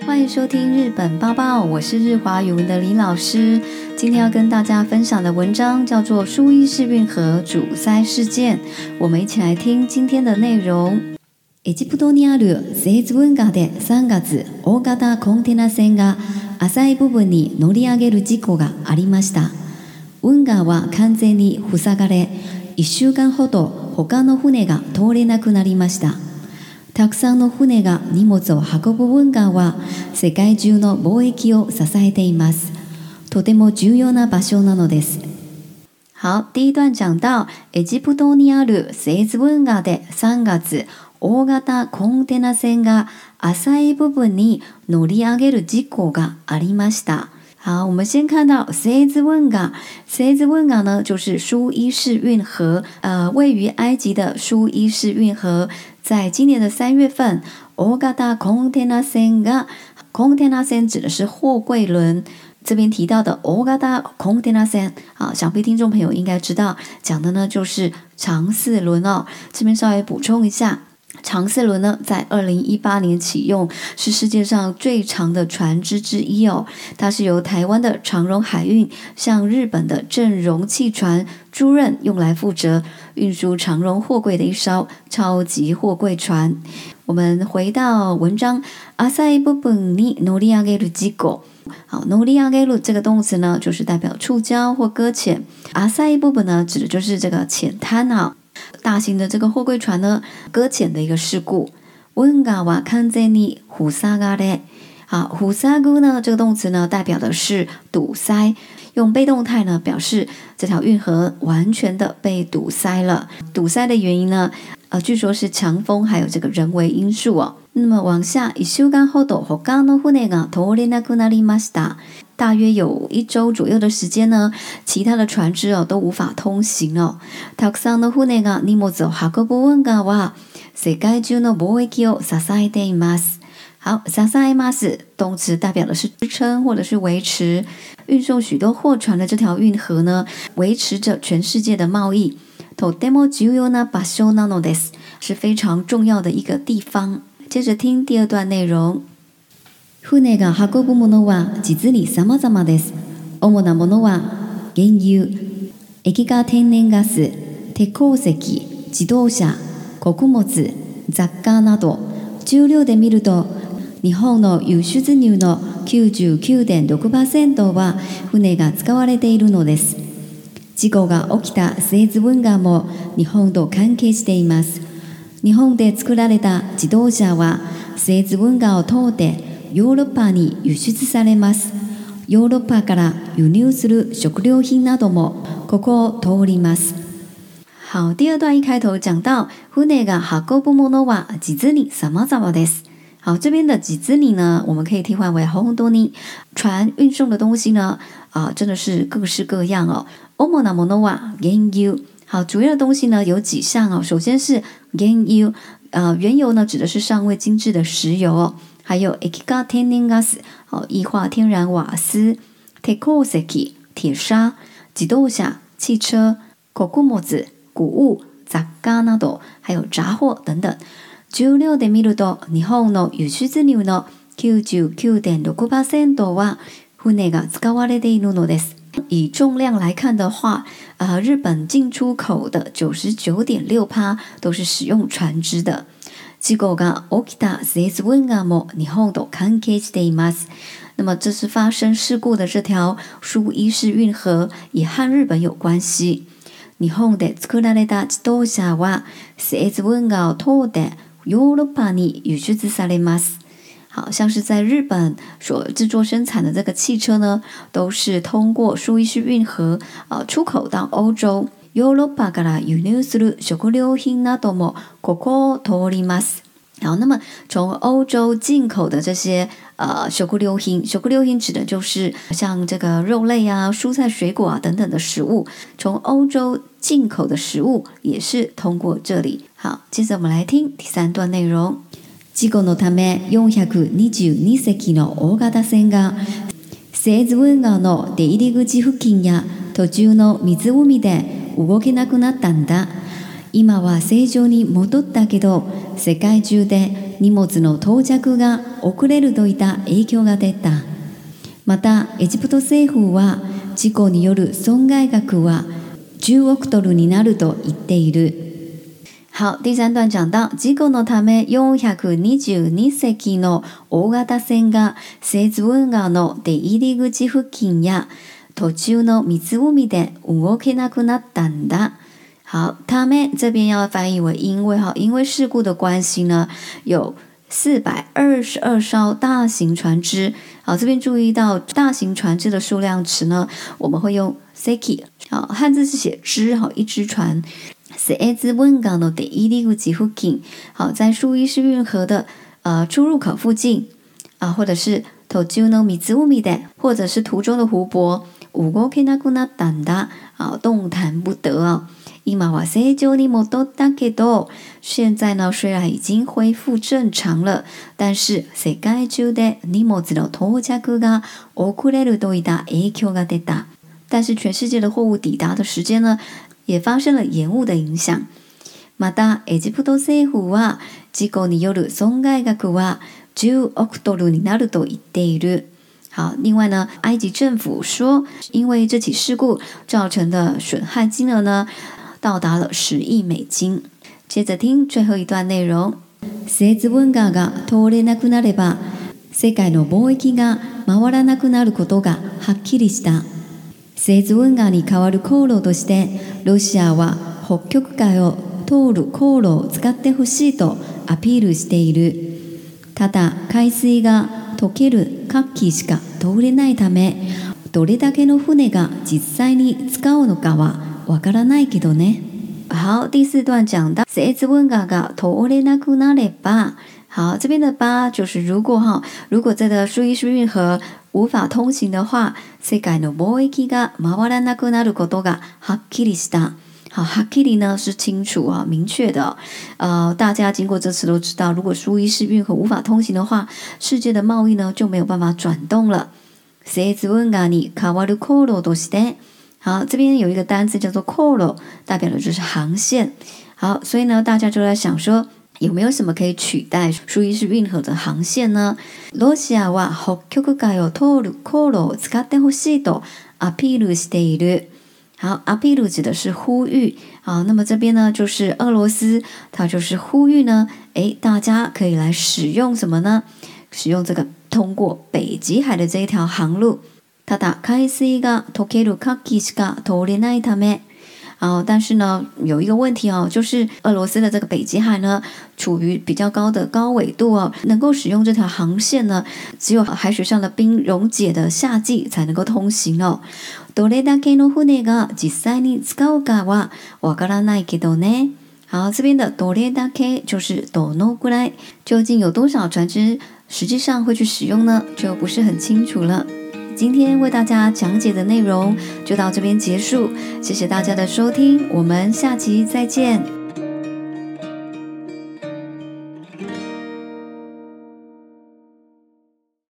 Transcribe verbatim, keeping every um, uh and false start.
欢迎收听日本报报，我是日华语文的李老师。今天要跟大家分享的文章叫做《苏伊士运河阻塞事件》，我们一起来听今天的内容。エジプトにある西津運河でさんがつ、大型コンテナ船が浅い部分に乗り上げる事故がありました。運河は完全に塞がれ、いっしゅうかんほど他の船が通れなくなりました。たくさんの船が荷物を運ぶ運河は世界中の貿易を支えています。とても重要な場所なのです。好，第一段講到エジプトにある西津運河でさんがつ、大型コンテナ船が浅い部分に乗り上げる事故がありました。好，我们先看到西津運河，西津運河呢就是苏伊士运河，呃，位于埃及的苏伊士运河，在今年的三月份，大型コンテナ船が，コンテナ船指的是货柜轮。这边提到的大型コンテナ船，啊，想必听众朋友应该知道，讲的呢就是长四轮哦。这边稍微补充一下。长四轮呢，在二零一八年启用，是世界上最长的船只之一哦。它是由台湾的长荣海运向日本的正荣汽船租赁，用来负责运输长荣货柜的一艘超级货柜船。我们回到文章，浅い部分に乗り上げる事故。好，乗り上げる这个動詞呢，就是代表触礁或搁浅。浅い部分呢，指的就是这个浅滩啊。大型的这个货柜船呢，搁浅的一个事故。運河は完全に塞がれ。好，塞ぐ呢这个动词呢，代表的是堵塞，用被动态呢表示这条运河完全的被堵塞了。堵塞的原因呢，呃，据说是强风还有这个人为因素哦。那么往下，一週間ほど他の船が通れなくなりました。大约有一周左右的時間呢，其他的船只哦都無法通行哦。たくさんの船が荷物を運ぶ運河は世界中の貿易を支えています。好，支えます动詞代表的是支撐或者是維持，運送許多貨船的這條運河呢，維持着全世界的貿易。とても重要な場所なのです，是非常重要的一個地方。接着聽第二段內容。船が運ぶものは実に様々です。主なものは原油、液化天然ガス、鉄鉱石、自動車、穀物、雑貨など、重量で見ると日本の輸出入の きゅうじゅうきゅうてんろくパーセント は船が使われているのです。事故が起きた西津運河も日本と関係しています。日本で作られた自動車は西津運河を通ってヨーロッパに輸出されます。ヨーロッパから輸入する食料品などもここを通ります。好，第二段一开头讲到船が運ぶものは実に様々です。好，这边的実に呢，我们可以替换为本当に。船运送的东西呢，啊、呃，真的是各式各样哦。主なものは原油。好，主要的东西呢有几项哦。首先是原油，呃，原油呢指的是尚未精制的石油哦。还有液化天然ガス，哦，液化天然瓦斯。鉄鉱石，铁砂。自動車，汽車。穀物，谷物。雑貨など，还有杂貨等等。重量で見ると、日本の輸出入の きゅうじゅうきゅうてんろくパーセント は船が使われているのです。以重量来看的话，呃，日本进出口的 百分之九十九点六 都是使用船只的。事故が起きた西津運河も日本と関係しています。那么这次发生事故的这条苏伊士運河也和日本有关系。日本で作られた自動車は西津運河を通ってヨーロッパに輸出されます。好像是在日本所制作生产的这个汽车呢，都是通过苏伊士運河呃出口到欧洲。ヨーロッパから輸入する食料品などもここを通ります。好，那么从欧洲进口的这些呃食料品，食料品指的就是像这个肉类啊、蔬菜、水果啊等等的食物，从欧洲进口的食物也是通过这里。好，接着我们来听第三段内容。事故のためよんひゃくにじゅうに隻の大型船が西津運河の出入り口付近や途中の湖で動けなくなったんだ。 今は正常に戻ったけど、世界中で荷物の到着が遅れるといった影響が出た。また、エジプト政府は事故による損害額はじゅうおくドルになると言っている。好，第三段講到、事故のためよんひゃくにじゅうにせきの大型船がセーズ運河の出入り口付近や途中の湖で動けなくなったんだ。好，他们这边要翻译为因为哈，因为事故的关系呢，有四百二十二艘大型船只。好，这边注意到大型船只的数量词呢，我们会用 seki。好，汉字是写只，好，一只船。セーズ運河の出入り口付近，好，在苏伊士运河的呃出入口附近啊，或者是途中の湖で，或者是途中的湖泊。動けなくなったんだ，啊，动弹不得啊。今は正常に戻ったけど，现在呢虽然已经恢复正常了，但是世界中で荷物の到着が遅れるといった影響が出た。但是全世界的货物抵达的时间呢，也发生了延误的影响。また、エジプト政府は事故による損害額はじゅうおくドルになると言っている。好，另外呢，埃及政府说，因为这起事故造成的损害金额呢，到達了十億美金。接着聽最後一段內容。セーズ運河が通れなくなれば、世界の貿易が回らなくなることがはっきりした。セーズ運河に代わる航路として、ロシアは北極海を通る航路を使ってほしいとアピールしている。ただ、海水が溶ける夏季しか通れないため、どれだけの船が実際に使うのかはわからないけどね。好，第四段講到セーズ運河が通れなくなれば，好，这边的吧就是如果哈，如果这个苏伊士運河无法通行的话，世界の貿易が回らなくなることがはっきりした。好，はっきり呢是清楚啊，明確的。呃，大家經過這次都知道，如果蘇伊士運河無法通行的話，世界的貿易呢就沒有辦法轉動了。セーズ運河に代わる航路として，好，這邊有一個單詞叫做航路，代表的就是航線。好，所以呢，大家就在想說，有沒有什麼可以取代蘇伊士運河的航線呢？ロシアは北極海を通る航路を使ってほしいとアピールしている。好，阿皮鲁指的是呼吁。好，那么这边呢，就是俄羅斯，它就是呼籲呢，誒，大家可以來使用什麼呢？使用這個通過北極海的這一條航路。ただ、海水が溶ける夏季しか通れないため。好，但是呢，有一個問題哦，就是俄羅斯的這個北極海呢，處於比較高的高緯度哦，能夠使用這條航線呢，只有海水上的冰溶解的夏季才能夠通行哦。どれだけの船が実際に使うかはわからないけどね。好，这边的どれだけ就是どのくらい，究竟有多少船只實際上會去使用呢？就不是很清楚了。今天為大家講解的內容就到這邊結束，謝謝大家的收聽，我們下期再見。